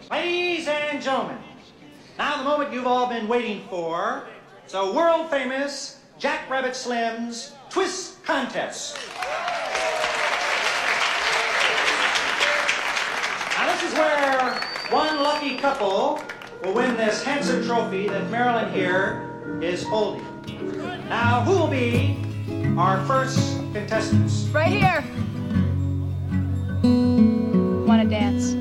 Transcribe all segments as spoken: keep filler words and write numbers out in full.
Ladies and gentlemen, now the moment you've all been waiting for. It's a world-famous Jack Rabbit Slim's Twist Contest. Now this is where one lucky couple will win this handsome trophy that Marilyn here is holding. Now, who will be our first contestants? Right here. Want to dance?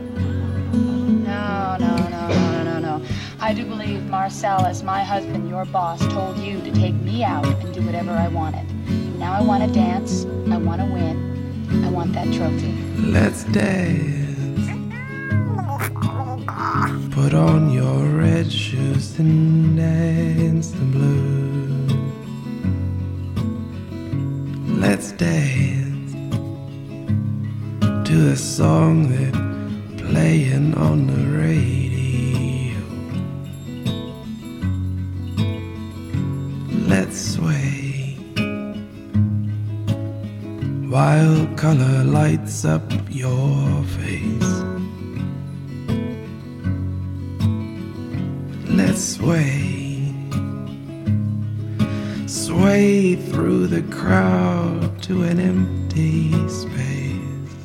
No, no, no, no, no, no. I do believe Marcel, as my husband, your boss, told you to take me out and do whatever I wanted. Now I want to dance. I want to win. I want that trophy. Let's dance. Put on your red shoes and dance the blues. Let's dance to a song that's playing on the radio. Let's sway while color lights up your face. Let's sway, sway through the crowd to an empty space.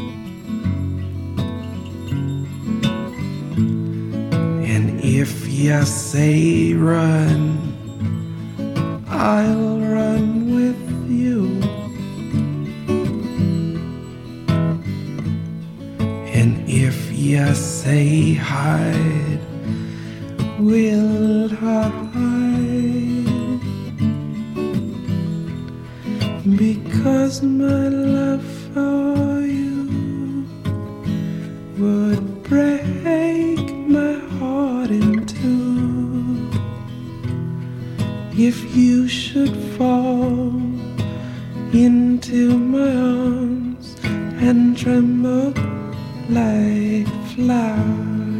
And if you say run, I'll run with you. And if you say hide, we'll hide, because my love for you would break my heart in two. If you should fall into my arms and tremble like flowers,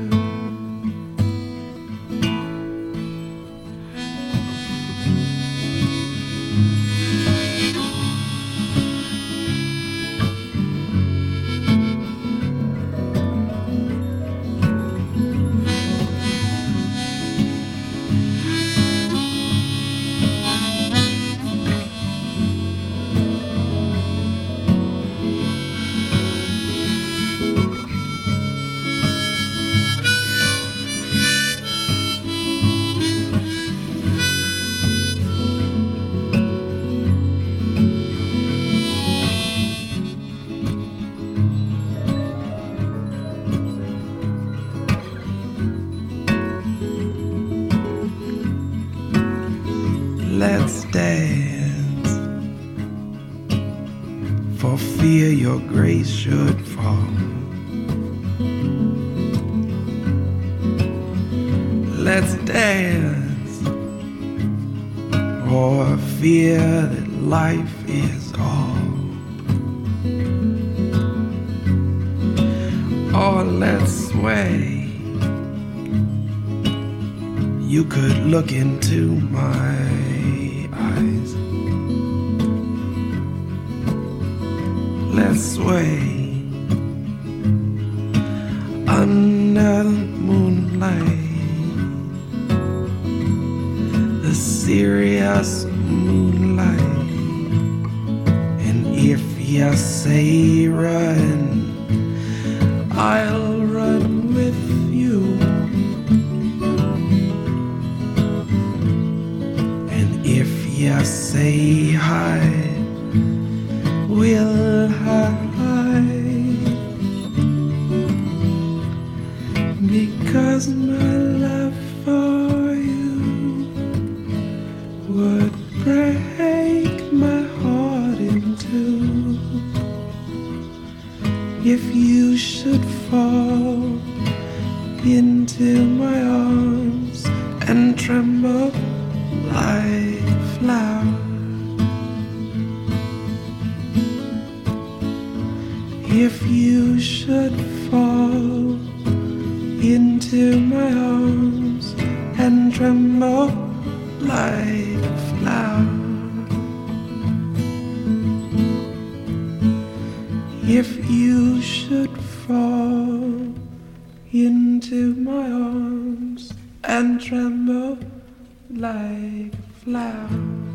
let's dance, for fear your grace should fall. Let's dance, for fear that life is all. Or let's sway. You could look into my eyes. Let's sway under the moonlight, the serious moonlight. And if you say run, I'll run with you. You say hide, we'll hide, because my love for you would break my heart in two. If you should fall into my arms and tremble like flower, if you should fall into my arms and tremble like flower, if you should fall in into my arms and tremble like a flower.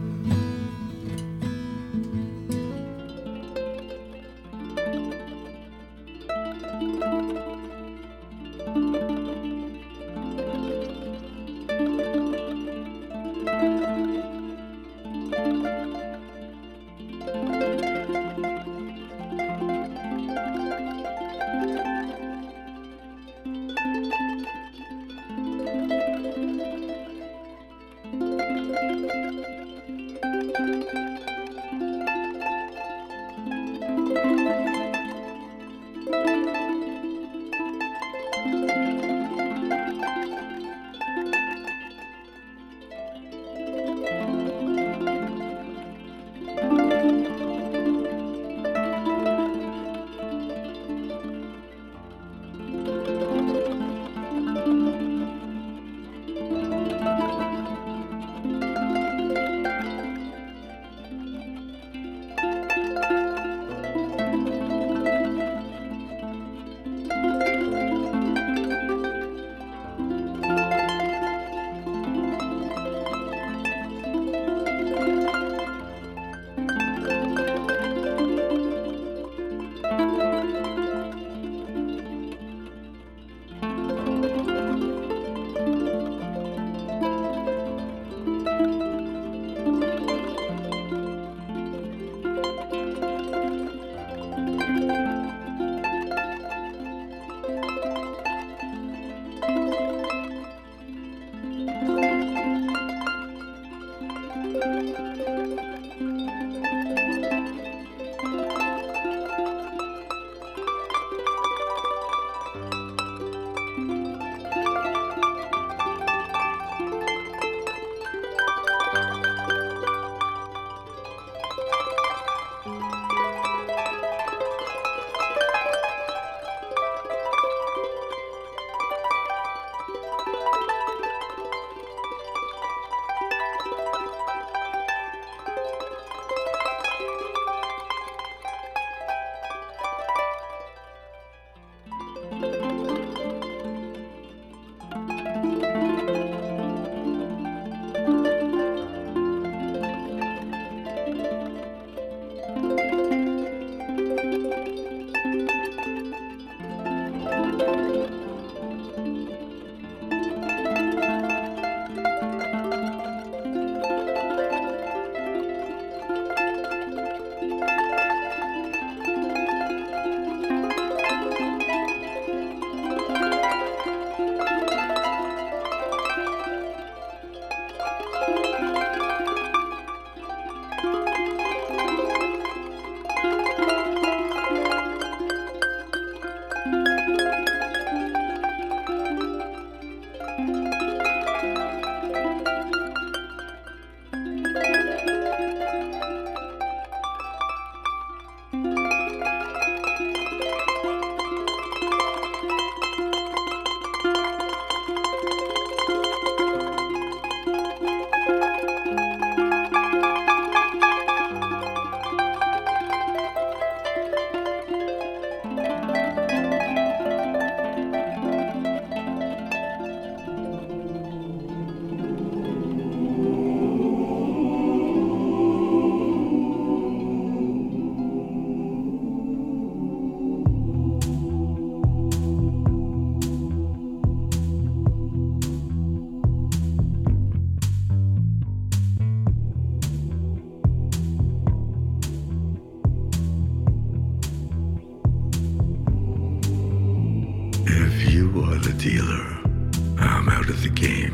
dealer, I'm out of the game.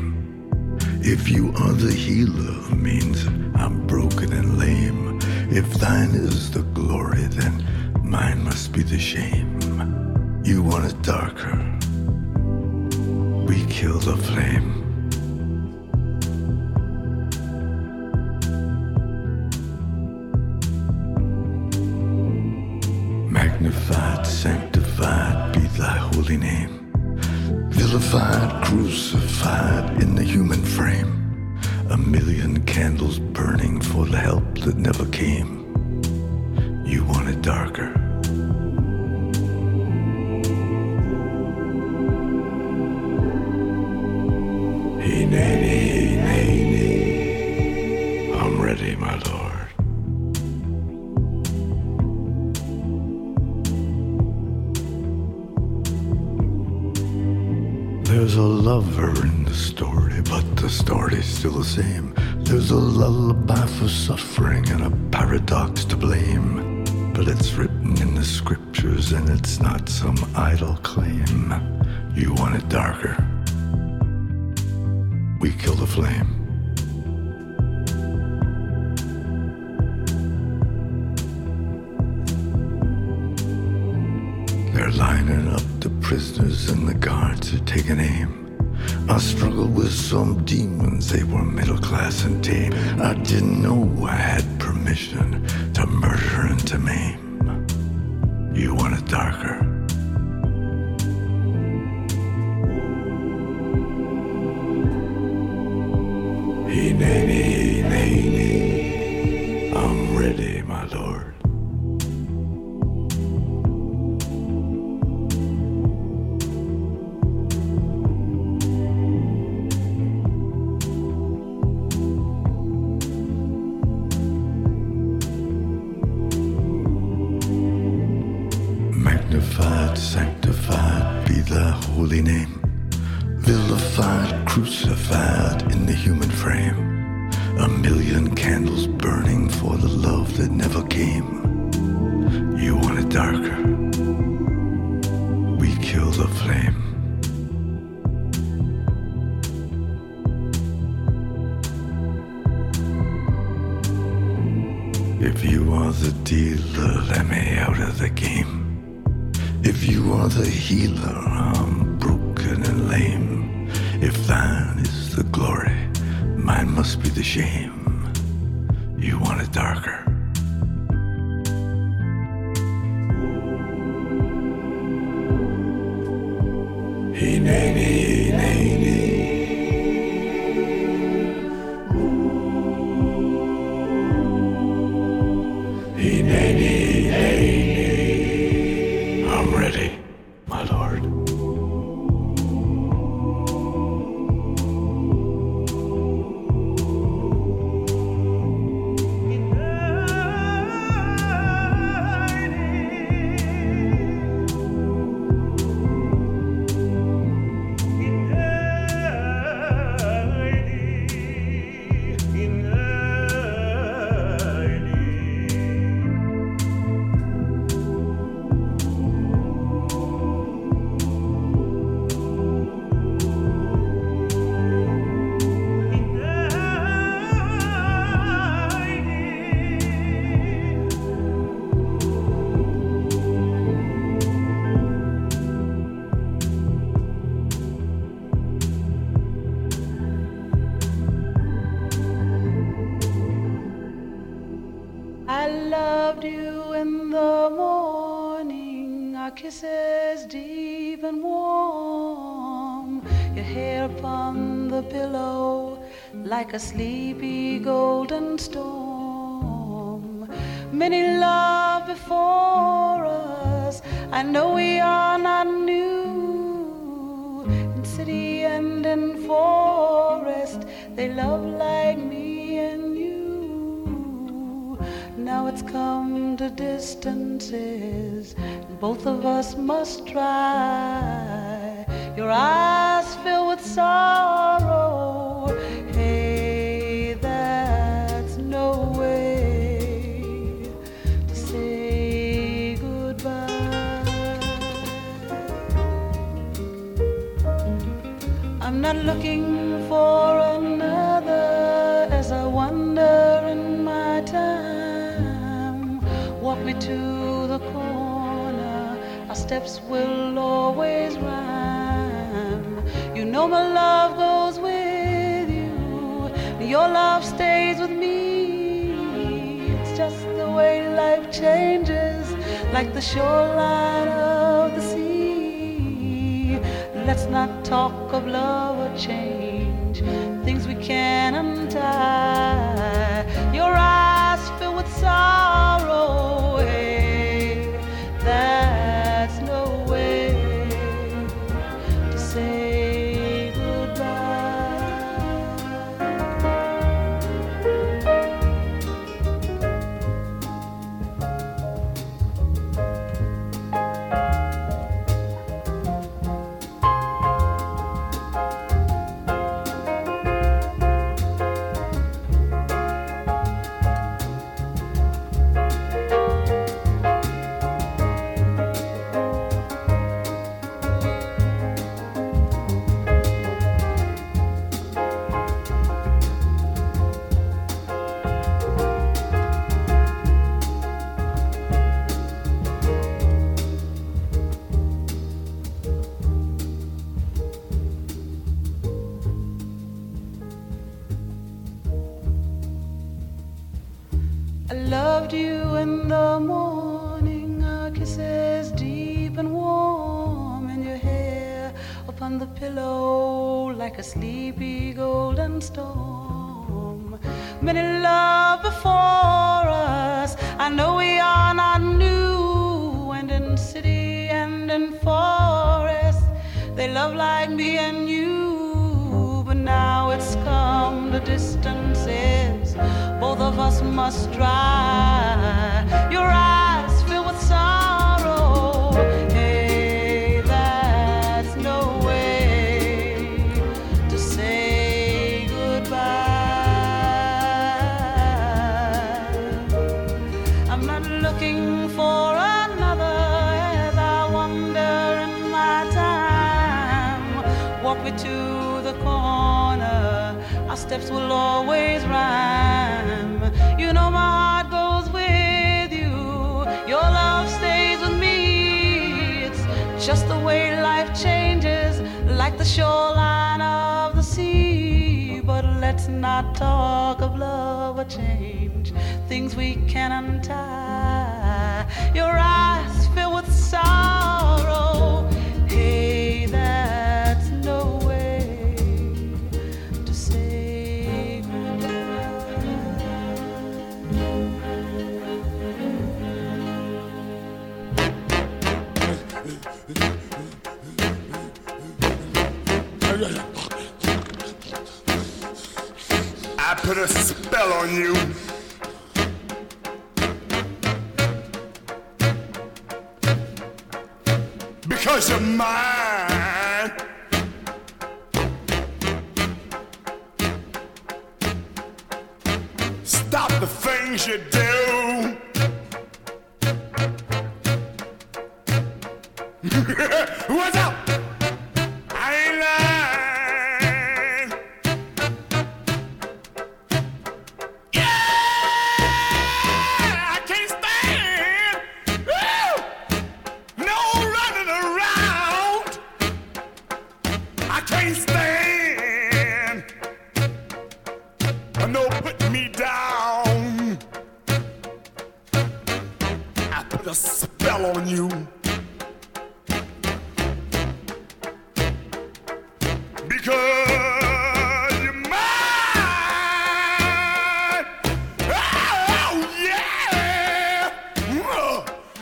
If you are the healer, means I'm broken and lame. If thine is the glory, then mine must be the shame. You want it darker, we kill the flame. Magnified, sanctified be thy holy name. Vilified, crucified in the human frame. A million candles burning for the help that never came. You want it darker. Nay, nay, nay, I'm ready, my lord. There's a lover in the story, but the story's still the same. There's a lullaby for suffering and a paradox to blame. But it's written in the scriptures and it's not some idle claim. You want it darker? We kill the flame. They're lining up the prisoners and the guards are taking aim. I struggled with some demons, they were middle class and tame. I didn't know I had permission to murder and to maim. You want it darker? Hey, nay, nay, nay, nay, I'm ready, my lord. Magnified, sanctified be thy holy name. Vilified, crucified in the human frame. A million candles burning for the love that never came. You want it darker? We kill the flame. If you are the dealer, let me out of the game. If you are the healer, I'm broken and lame. If thine is the glory, mine must be the shame. You want it darker? Hey, nay, nay, nay, nay. Hey, nay, nay, nay, nay. I'm ready, my lord. Kisses deep and warm, your hair upon the pillow like a sleepy golden storm. Many love before us, I know we are not new. In city and in forest, they love like me and you. Now it's come to distances, both of us must try. Your eyes fill with sorrow. Hey, that's no way to say goodbye. I'm not looking for another as I wander in my time. Walk me to the corner, our steps will always rhyme. You know my love goes with you, your love stays with me. It's just the way life changes, like the shoreline of the sea. Let's not talk of love or change, things we can't untie. Your eyes fill with sorrow, hey, that's no way to say goodbye. loved you in the morning, our kisses deep and warm, and your hair upon the pillow like a sleepy golden storm. Many love before us, I know we are not new, and in city and in forest they love like me and you. But now it's come to distances both of us must dry. Your eyes fill with sorrow, hey, that's no way to say goodbye. I'm not looking for another as I wander in my time. Walk me to the corner, our steps will always rhyme. You know my heart goes with you, your love stays with me. It's just the way life changes, like the shoreline of the sea. But let's not talk of love or change, things we can untie. Your eyes fill with sorrow, hey, that's no way to say goodbye. I put a spell on you. Because you're mine. Stop the things you do. What's up? I ain't lying. Yeah, I can't stand. Woo! No running around. I can't stand. No putting me down. I put a spell on you. Because you're mine. Oh, yeah. Whoa.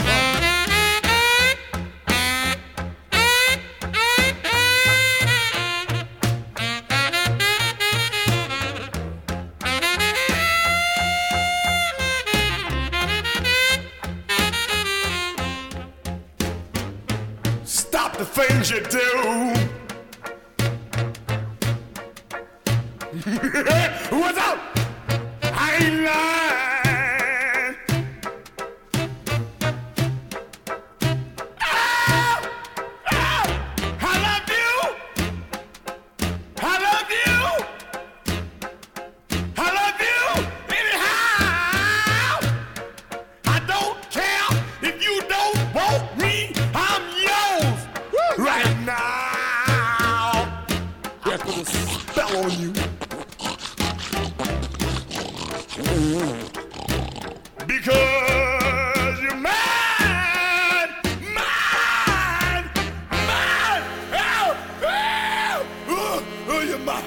Stop the things you do. What's up? I ain't lying. Oh, oh, I love you. I love you. I love you anyhow. I don't care if you don't want me. I'm yours. Woo. Right now. I put a spell on you. Because you're mine, mine, mine. Oh, oh, oh, oh, you're mine.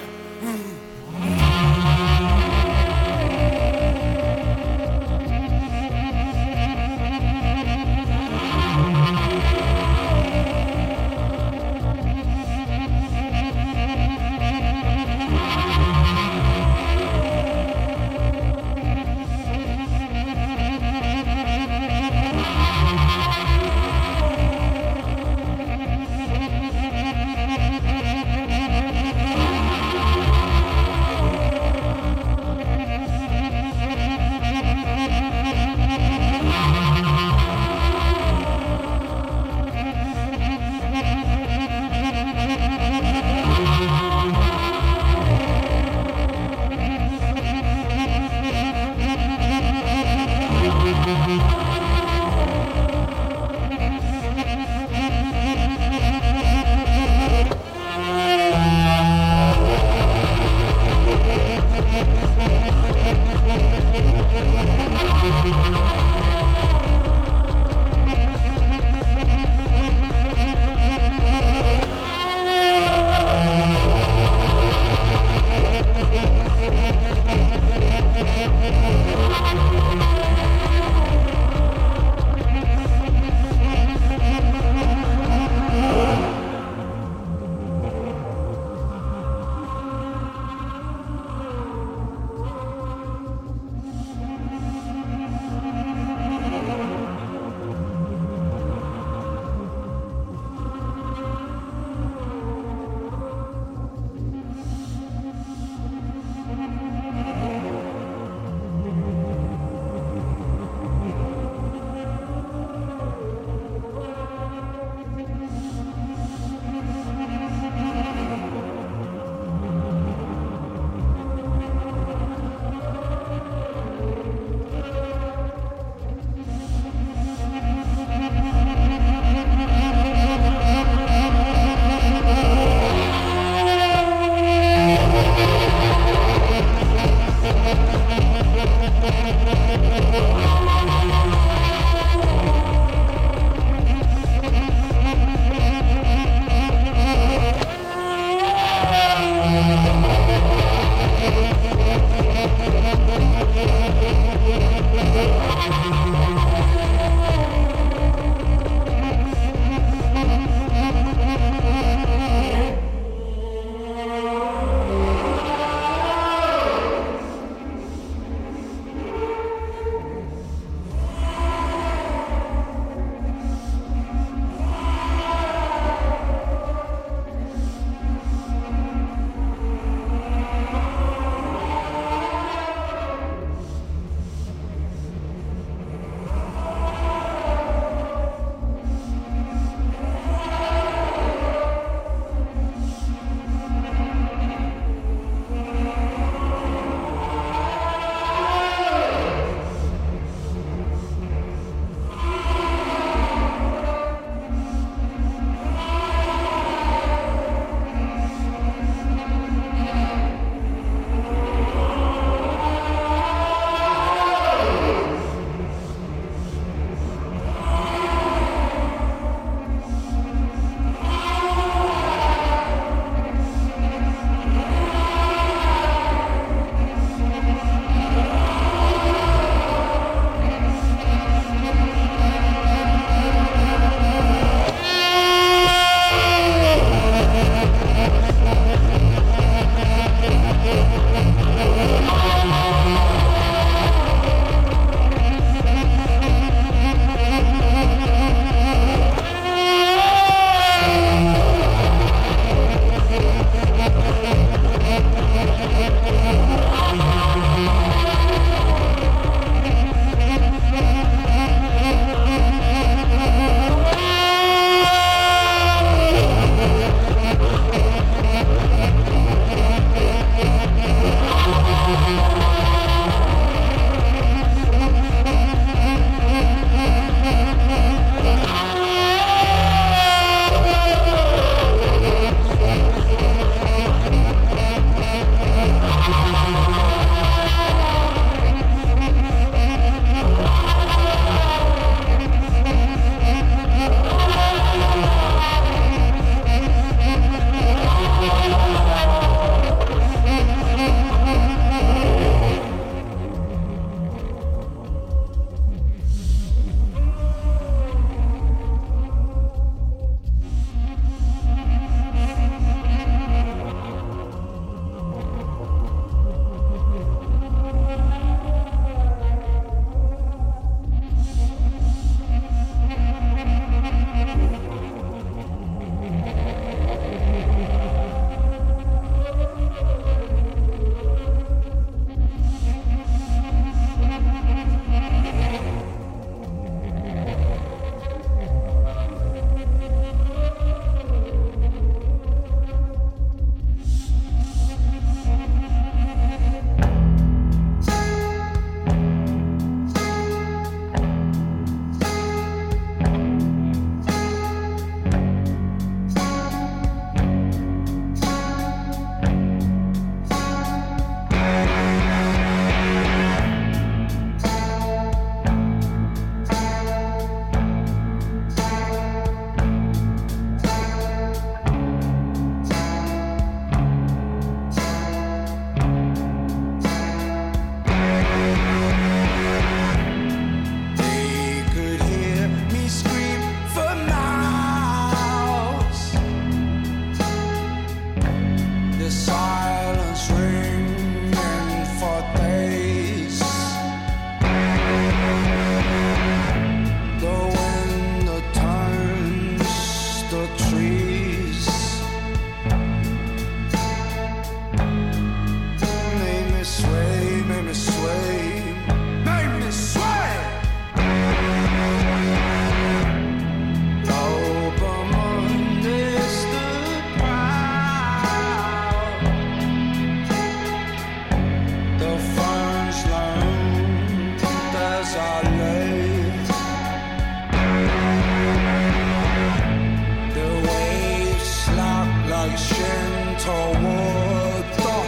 water.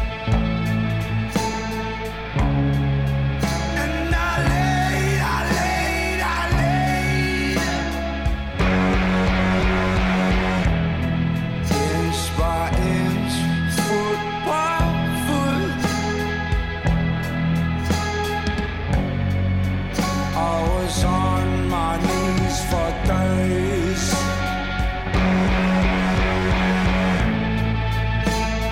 And I laid, I laid, I laid inch by inch, foot by foot. I was on my knees for days.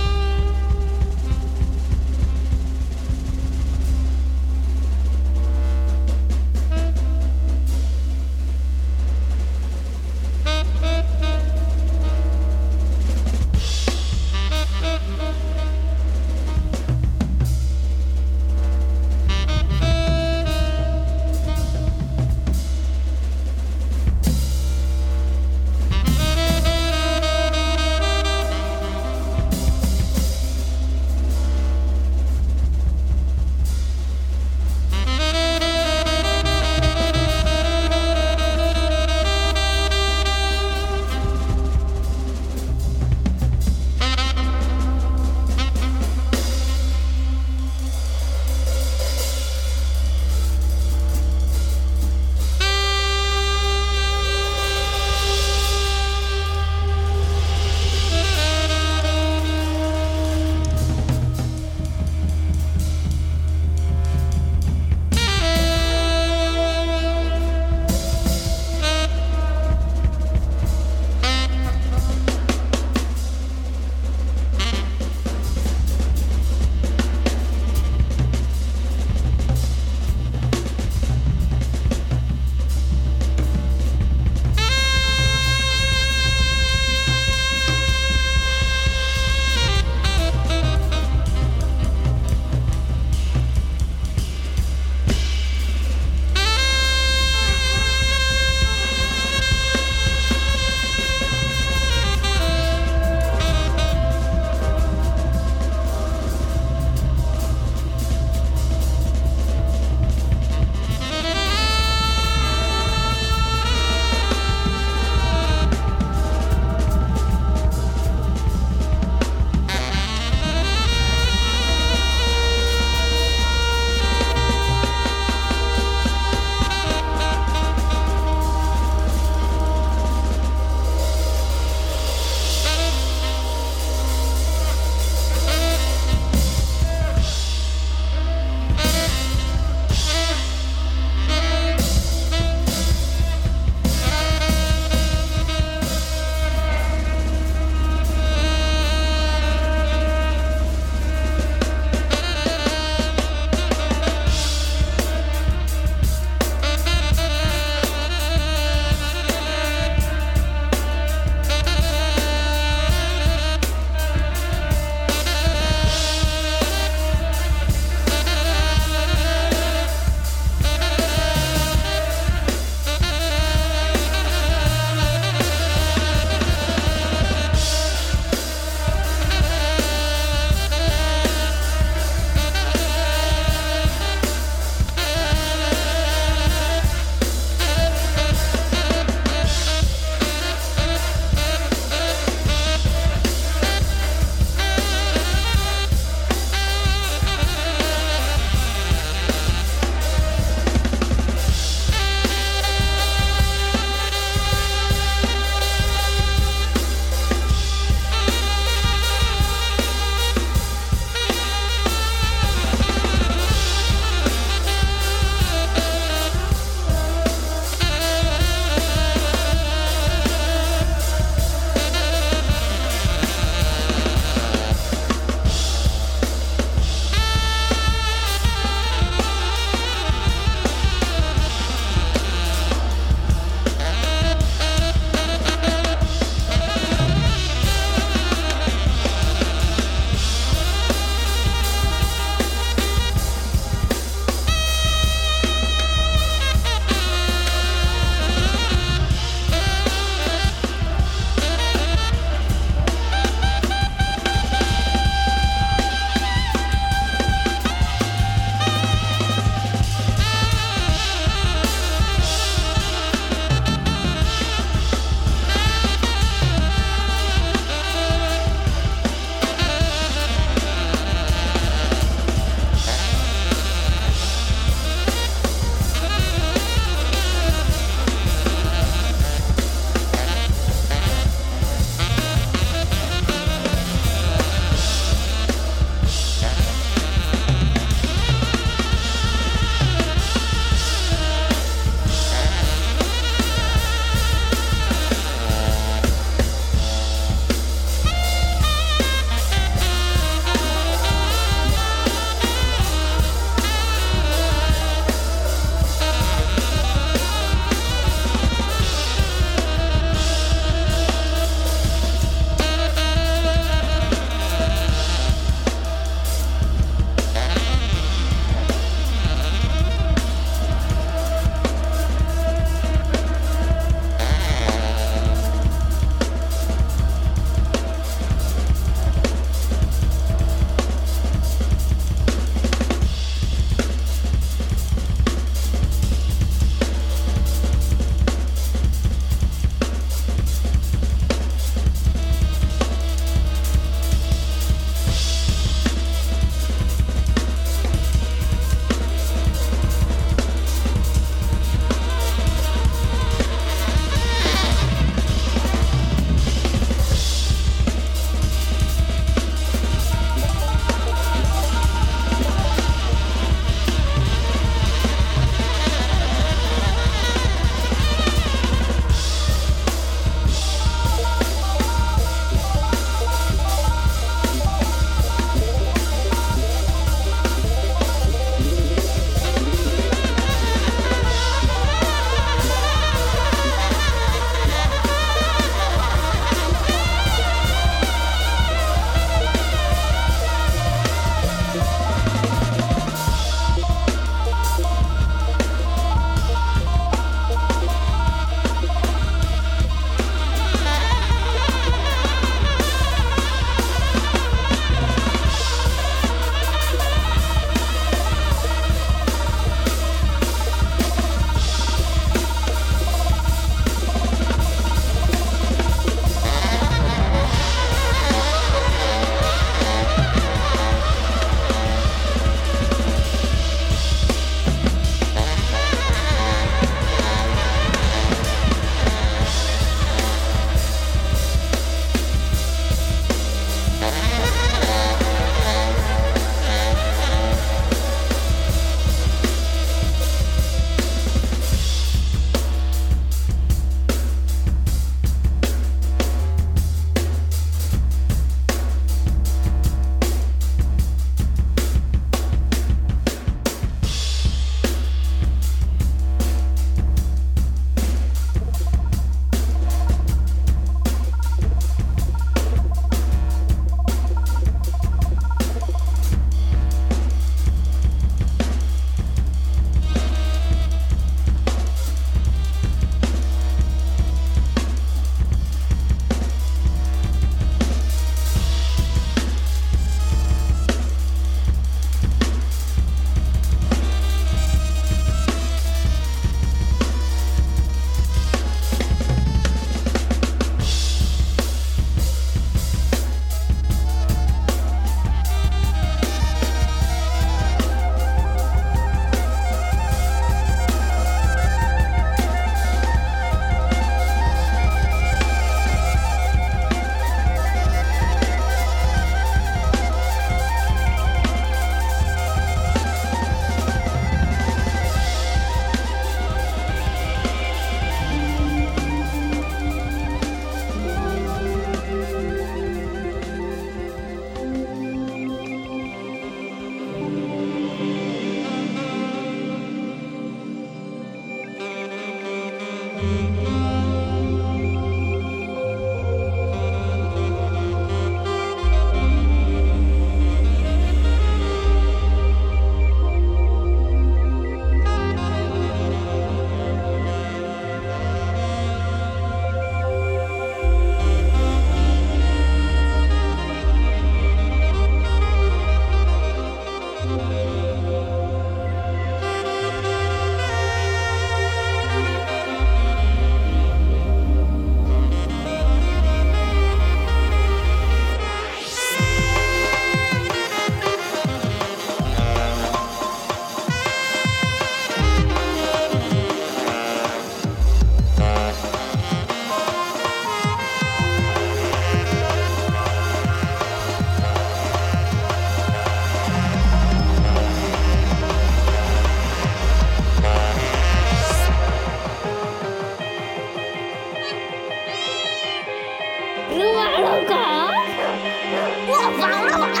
你玩了个？我玩了个。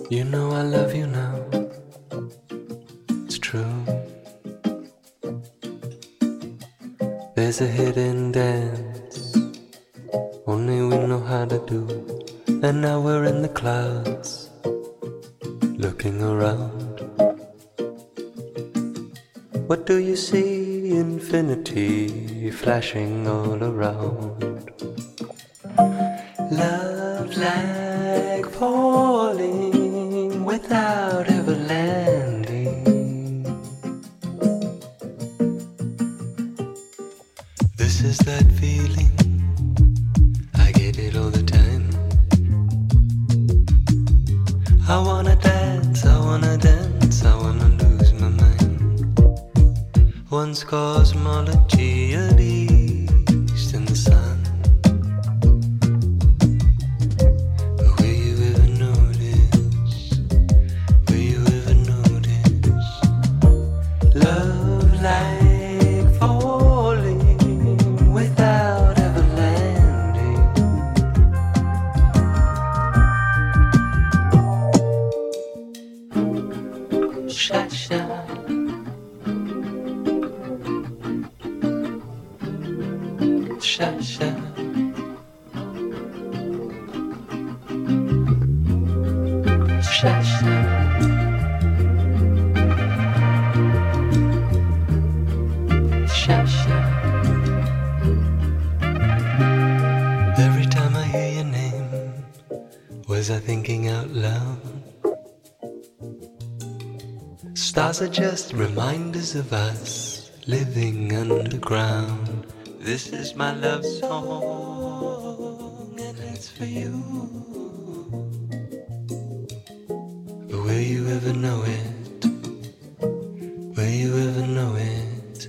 You know I love you now. It's true. There's a hidden dance only we know how to do. And now we're in the clouds, looking around. What do you see? Infinity flashing all around. Love like falling without ever landing. This is that feeling, I get it all the time. I wanna dance, I wanna dance, I wanna lose my mind. One's cosmology at east in the sun. Every time I hear your name, was I thinking out loud? Stars are just reminders of us living underground. This is my love song, and it's for you. But will you ever know it? Will you ever know it?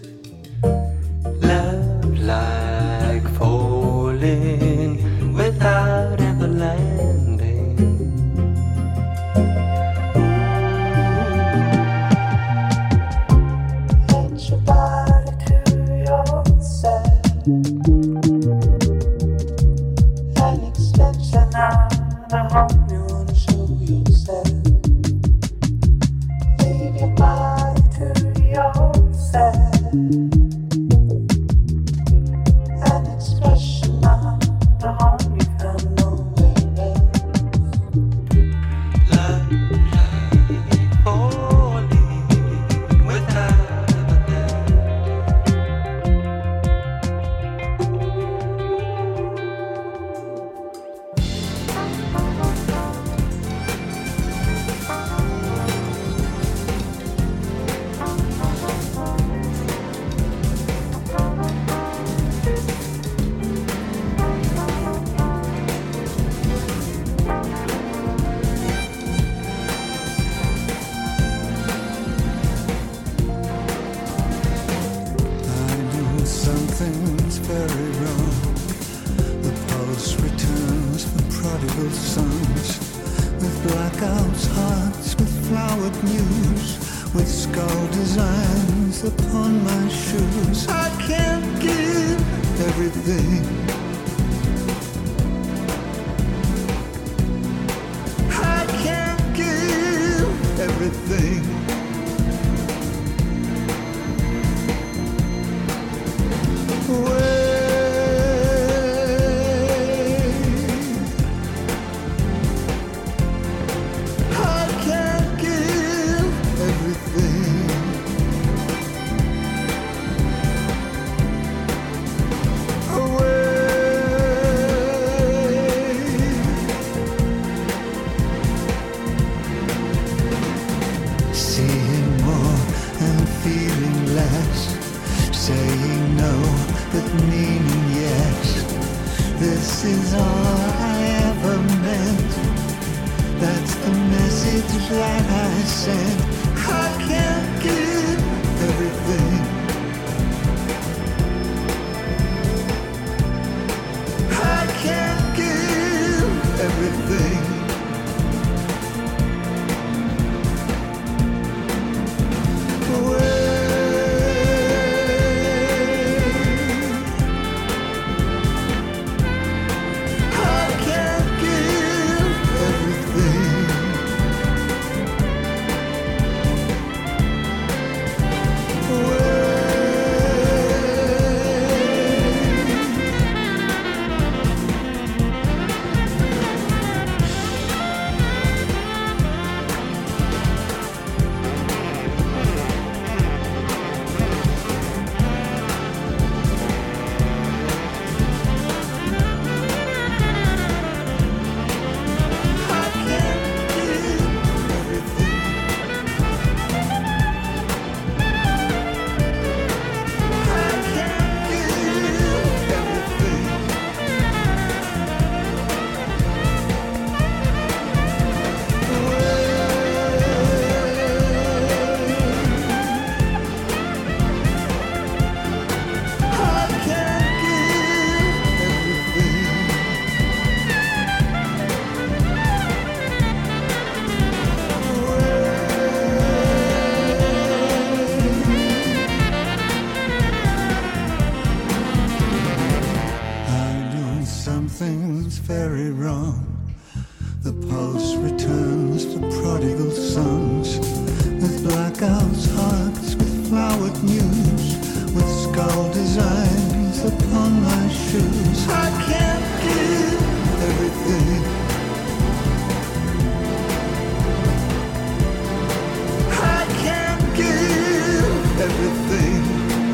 Love like falling without ever landing. Let your body to yourself. An extension on the home you wanna show yourself. Leave your body to yourself. An expression on the home you found nowhere else. Love like falling without ever I know something's very wrong. The pulse returns for prodigal sons, with blackouts, hearts, with flowered news, with skull designs upon my shoes. I can't give everything. I can't give everything. I can't give everything. Seeing more and feeling less, saying no but meaning yes. This is all I ever meant. That's the message that I sent. I can't give everything. I can't give everything. I can't give everything. seems very wrong. The pulse returns to prodigal sons, with blackouts, hearts, with flowered news, with skull designs upon my shoes. I can't give everything. I can't give everything.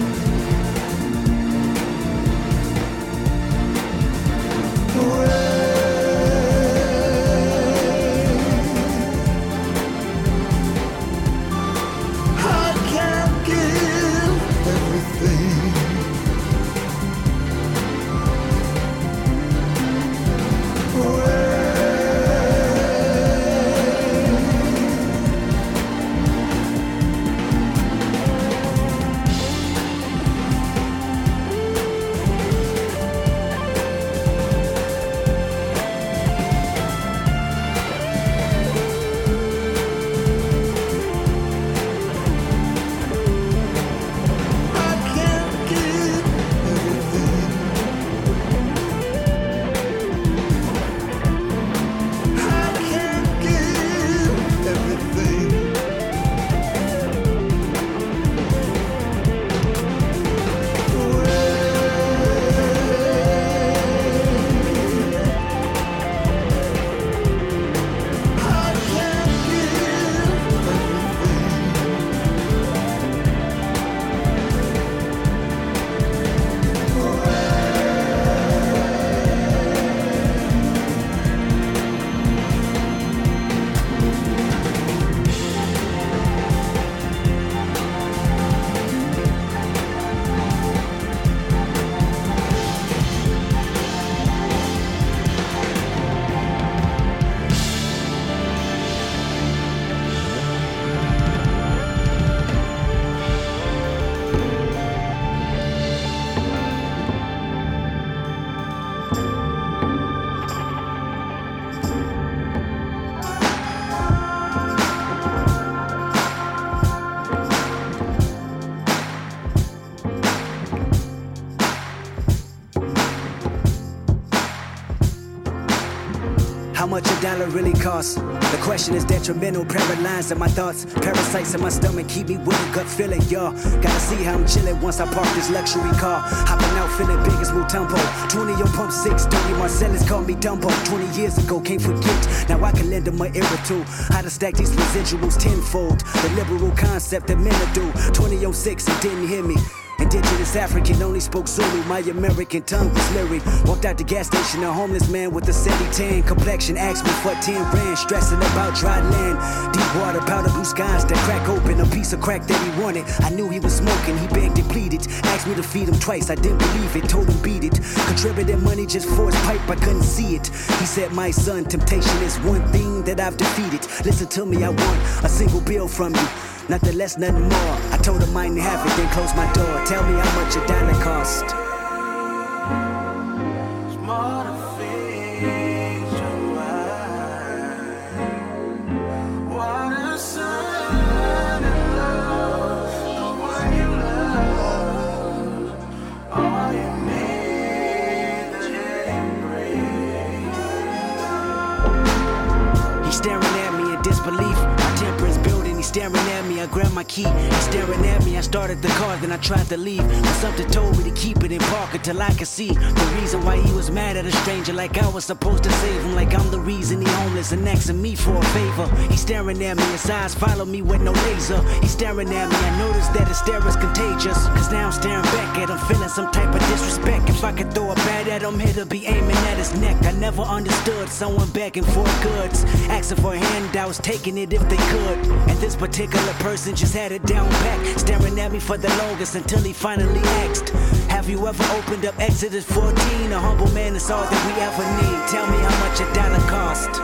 How much a dollar really costs? The question is detrimental, paralyzed in my thoughts. Parasites in my stomach keep me with a gut feeling, y'all. Gotta see how I'm chillin' once I park this luxury car. Hopping out feeling big as Mutombo. twenty on pump six, Tony Marcellus called me Dumbo. twenty years ago, can't forget. Now I can lend him my ear too. How to stack these residuals tenfold. The liberal concept that men do. twenty oh six, it didn't hear me. Indigenous African, only spoke Zulu. My American tongue was lyric. Walked out the gas station, a homeless man with a sandy tan complexion. Asked me for ten rand, stressing about dry land. Deep water, powder blue skies that crack open. A piece of crack that he wanted. I knew he was smoking, he begged and pleaded. Asked me to feed him twice, I didn't believe it. Told him beat it. Contributed money just for his pipe, I couldn't see it. He said, my son, temptation is one thing that I've defeated. Listen to me, I want a single bill from you. Nothing less, nothing more. I told him I didn't have it, then closed my door. Tell me how much a dollar cost. He's staring at me in disbelief. My temper is building. He's staring at me. I grabbed my key. He's staring at me. I started the car, then I tried to leave. But something told me to keep it in park until I could see the reason why he was mad at a stranger. Like I was supposed to save him. Like I'm the reason he homeless and asking me for a favor. He's staring at me. His eyes follow me with no laser. He's staring at me. I noticed that his stare is contagious. Cause now I'm staring back at him, feeling some type of disrespect. If I could throw a bat at him, he'll be aiming at his neck. I never understood someone begging for goods, asking for handouts, taking it if they could. And this particular person just had it down pat, staring at me for the longest until he finally asked, have you ever opened up Exodus fourteen? A humble man is all that we ever need. Tell me how much a dollar cost.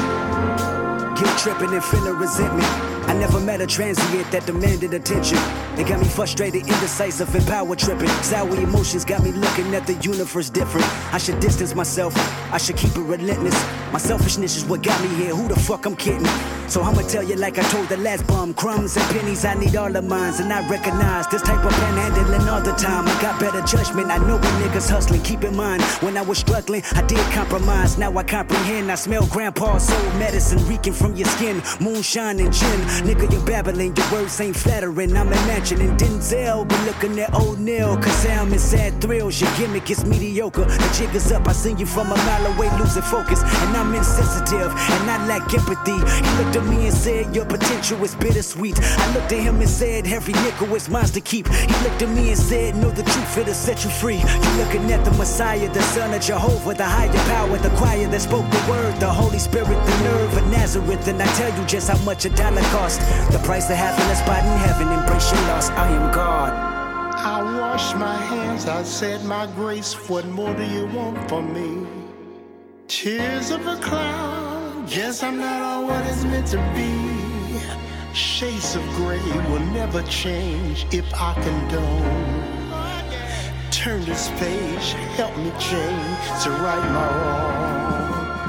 Tripping and feeling resentment. I never met a transient that demanded attention. They got me frustrated, indecisive, and power tripping. Sour emotions got me looking at the universe different. I should distance myself, I should keep it relentless. My selfishness is what got me here, who the fuck I'm kidding? So I'ma tell you like I told the last bum. Crumbs and pennies, I need all of mine. And I recognize this type of panhandling all the time. I got better judgment, I know when niggas hustling. Keep in mind, when I was struggling, I did compromise. Now I comprehend, I smell grandpa's soul medicine reeking from your skin. Moonshine and gin, nigga you're babbling. Your words ain't flattering, I'm imagining Denzel. But looking at old Neil, cause I'm in sad thrills. Your gimmick is mediocre, the jig is up. I seen you from a mile away losing focus. And I'm insensitive, and I lack empathy. He looked at me and said, your potential is bittersweet. I looked at him and said, every nickel is mine to keep. He looked at me and said, know the truth, it'll set you free. You looking at the Messiah, the Son of Jehovah, the higher power, the choir that spoke the word, the Holy Spirit, the nerve of Nazareth. And I tell you just how much a dollar costs. The price of having a spot in heaven. Embrace your loss, I am God. I washed my hands, I said my grace. What more do you want from me? Tears of a cloud, guess I'm not all what it's meant to be. Shades of gray will never change if I condone. Turn this page, help me change to right my wrong.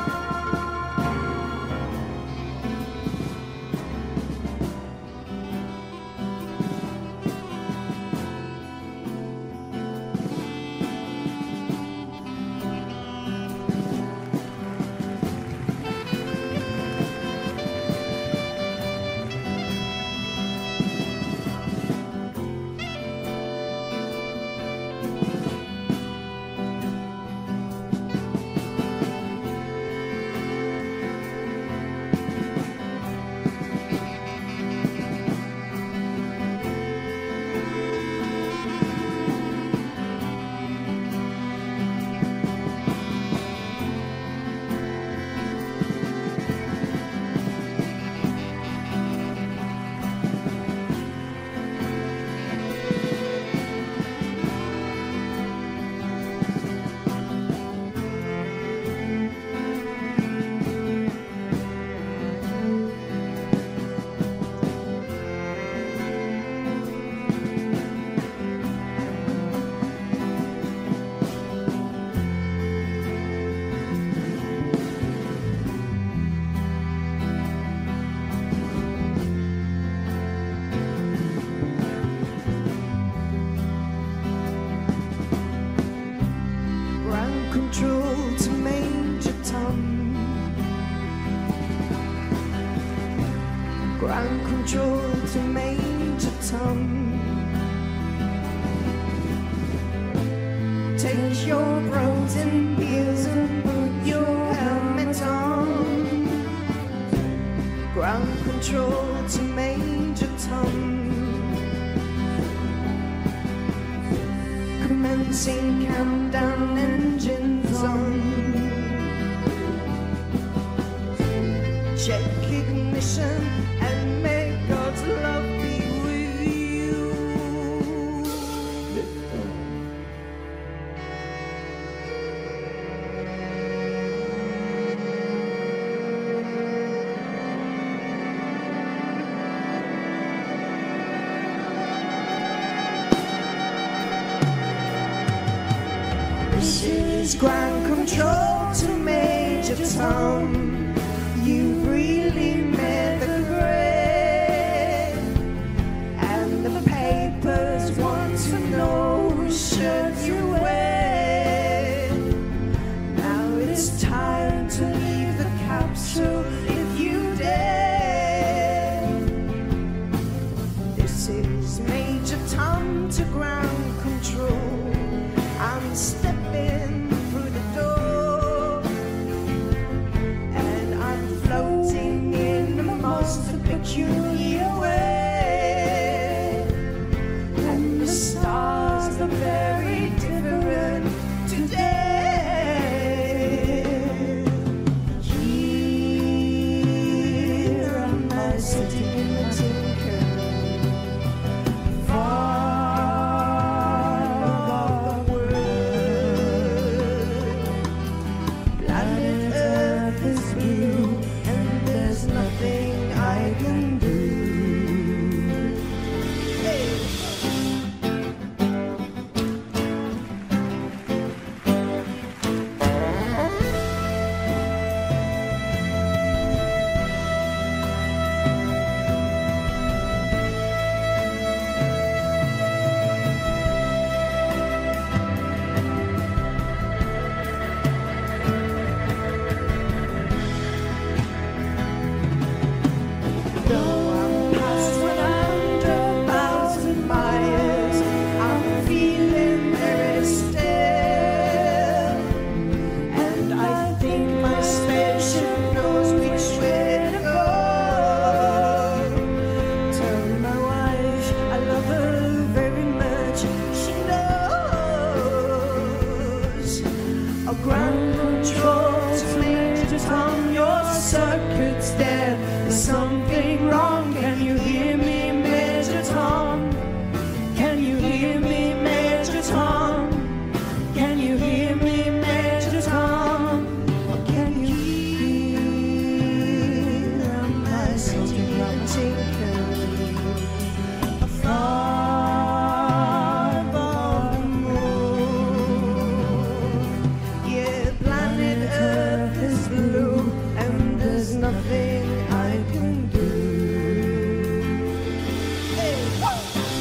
Ground control to Major Tom. You really made the grade, and the papers want to know who should you wear. Now it's time to leave the capsule if you dare. This is Major Tom to ground control. I'm stepping floating in sinking far above the moon. Yeah, planet Earth is blue, and there's nothing I can do. Hey, whoa!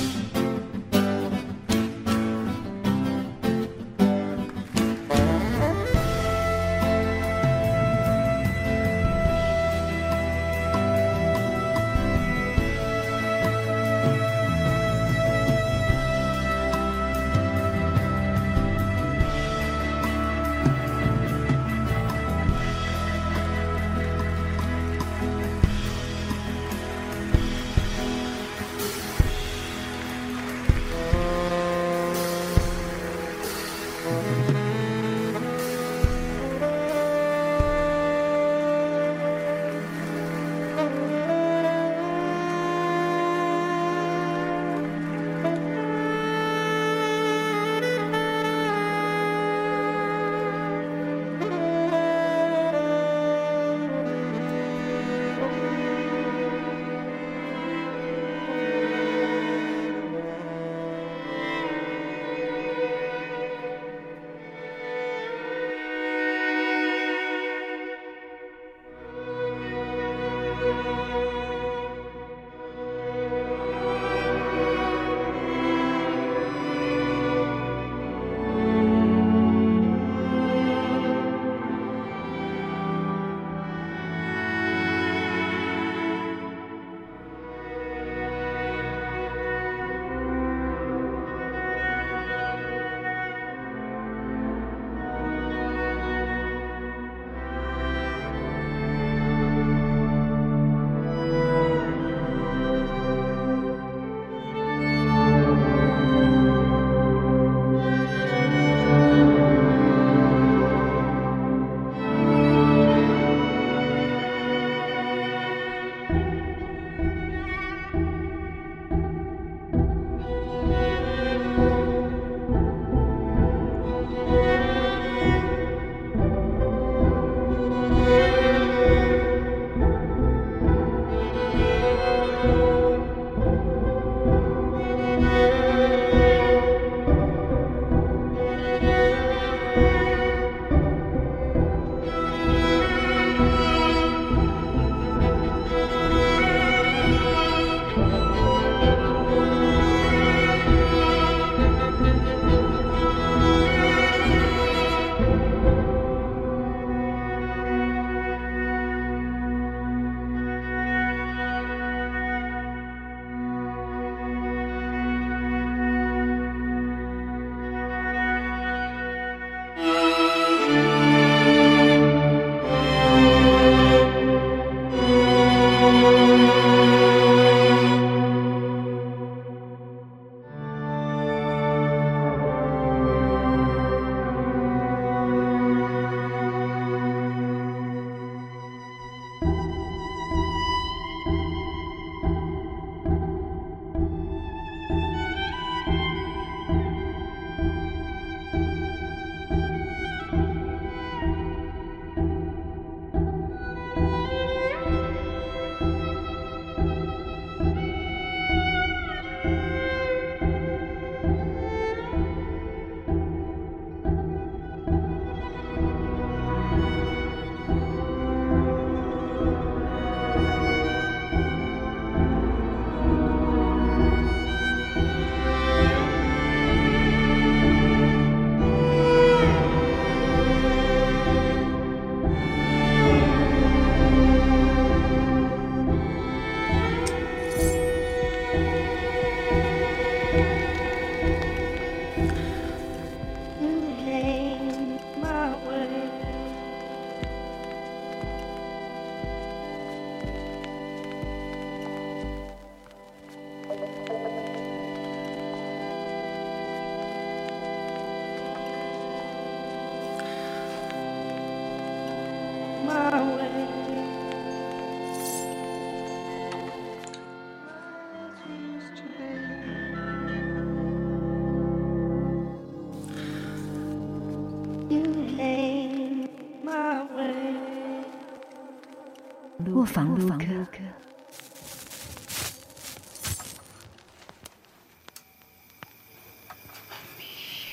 came my way. 卧房录歌。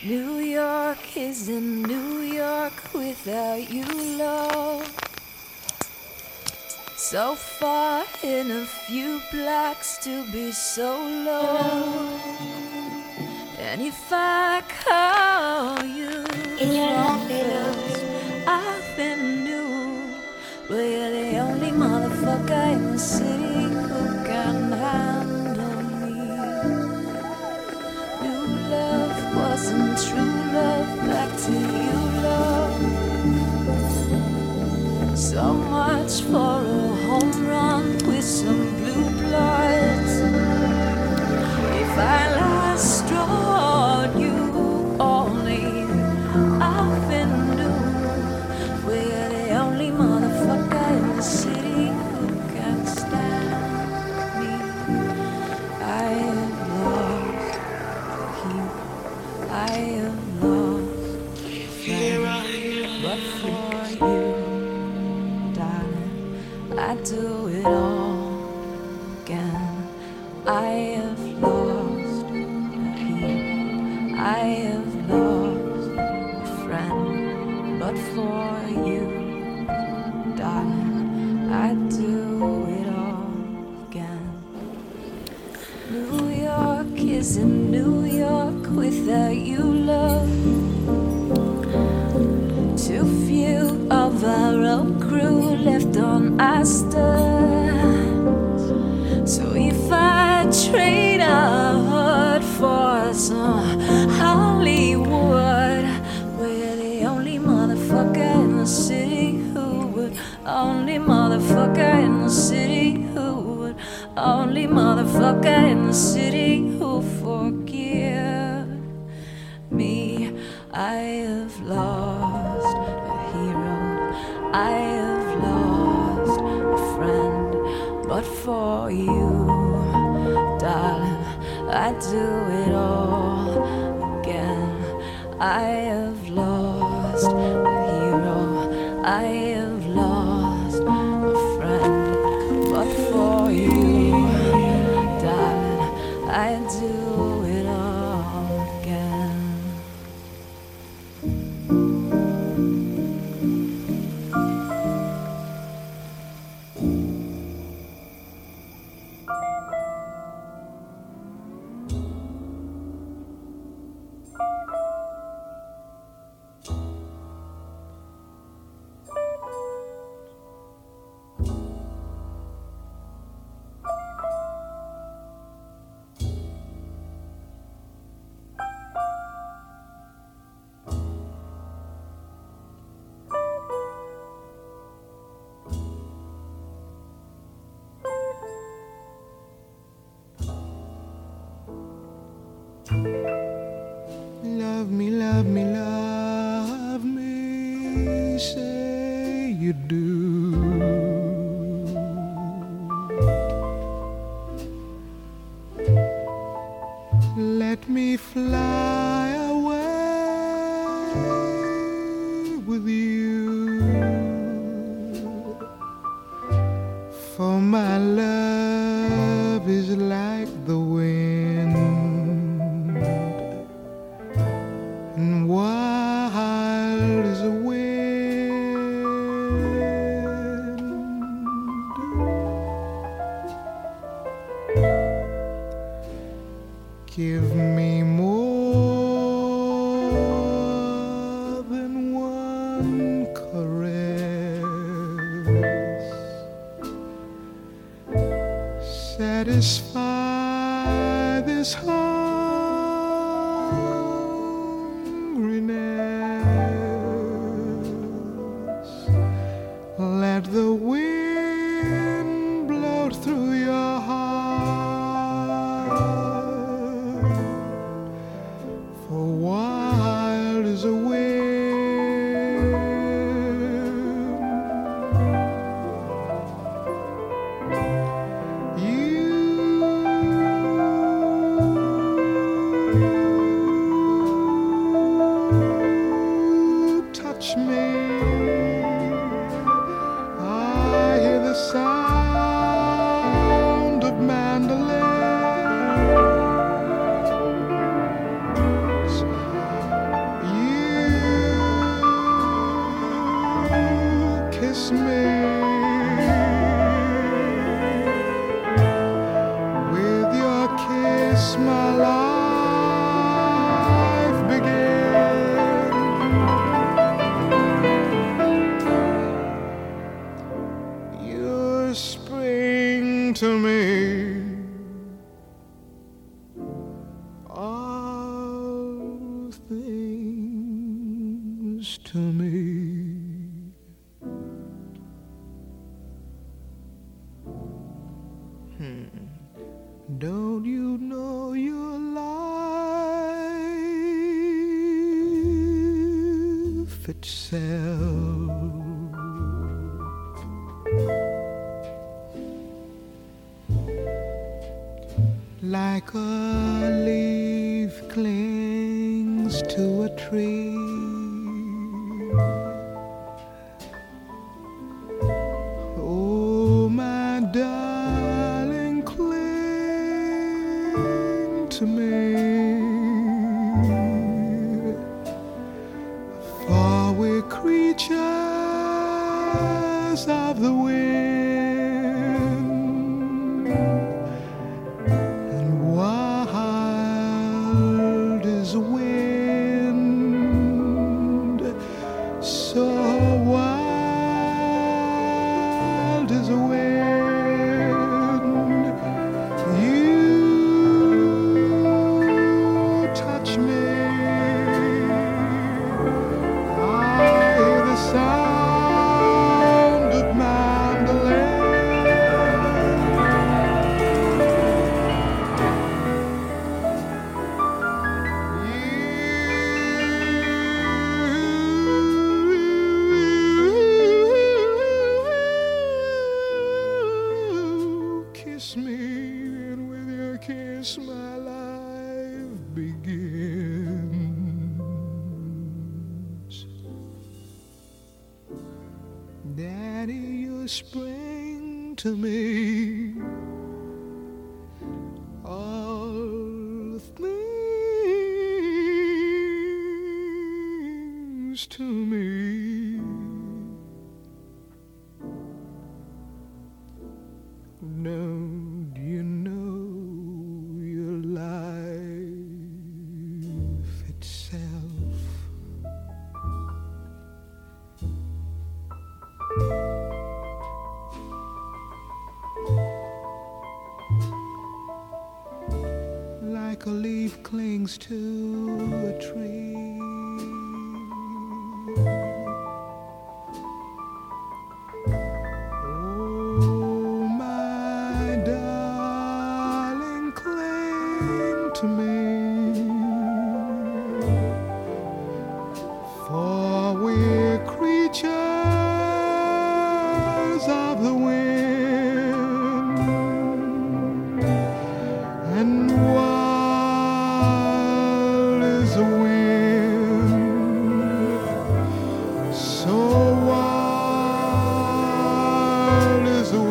New York isn't New York without you, love. So far in a few blocks to be so low. And if I call you from first, I've been new. Well, you're the only motherfucker in the city who can handle me. New love wasn't true love, back to you, love. So much for a home run with some blue bloods. If I last drawn you only, I've been new. We're the only motherfucker in the city who can stand me. I have lost you. I have lost here I am, but for you, darling, I do it all again. I have lost a heat. I have lost a friend, but for you, darling, I do it all again. New York isn't New York without you, love. Too few of our own crew left on our stand. So if I trade our heart for some Hollywood, we're the only motherfucker in the city who would, only motherfucker in the city who would, only motherfucker in the city who forgive me. I have lost a hero, I have lost a friend, but for you, darling, I do it all again. I have lost a hero, I have lost a friend, but for you, darling, I do it all again. Love me, love me, love me, say you do. Let me fly away with you, for my love is like the wind, and wild as a wind. Give me more than one caress, satisfy this hungriness. Let the wind blow through your heart, for wild as a wind. You to me. Hmm. Don't you know your life itself? Like a leaf clings to a tree, oh my darling, cling to me, for we're creatures of the wind. Spring to me all things to me. Don't you know your life itself? Like a leaf clings to a tree, oh my darling, cling to me, for we're creatures of the wind, and wild is the wind, so wild is the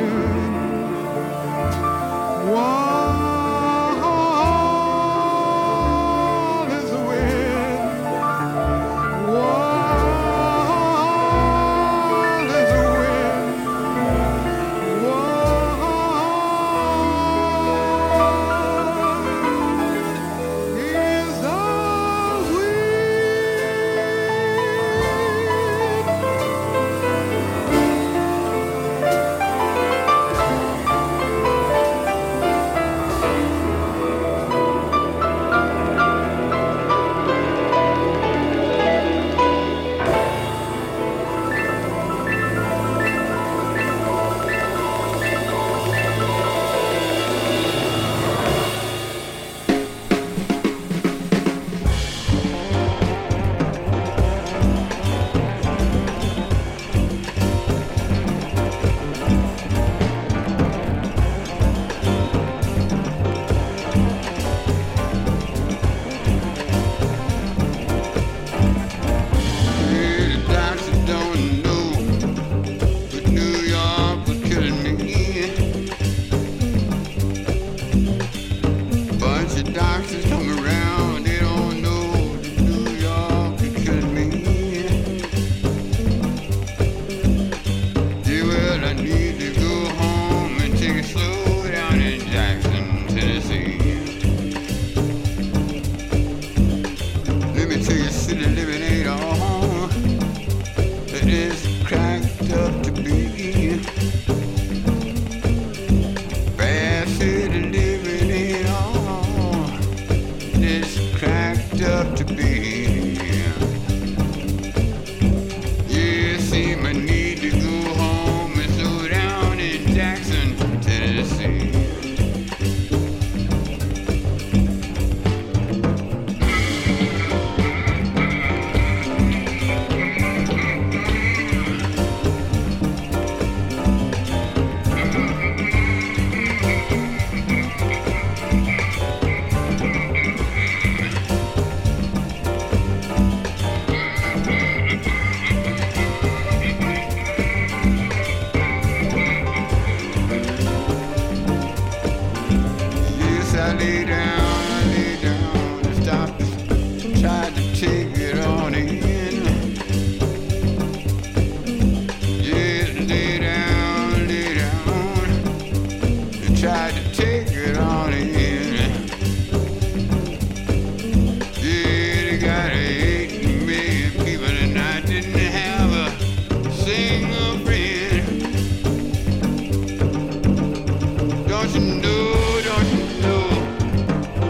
wind, wild lay down, I lay down and stopped, tried to take it on in. Yeah, lay down, lay down and tried to take it on in. Yeah, they got eight million people and I didn't have a single friend. Don't you know, don't you know,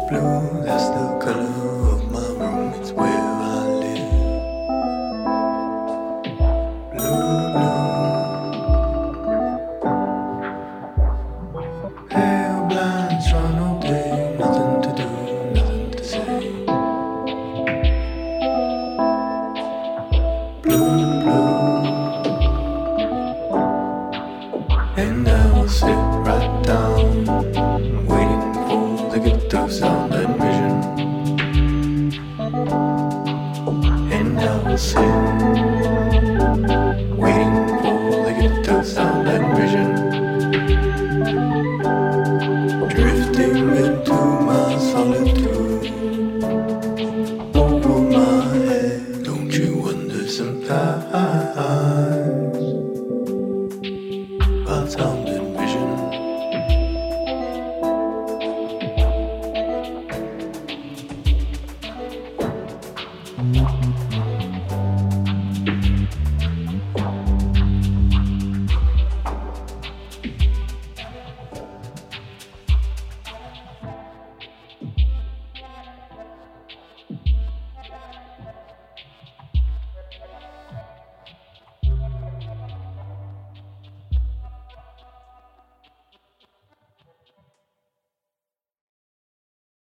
blue, that's the color of my room, it's where I live. Blue, blue. Pale blinds run all day, nothing to do, nothing to say. Blue, blue. And I will sit right down, waiting for the gift of sound and vision. And I will sit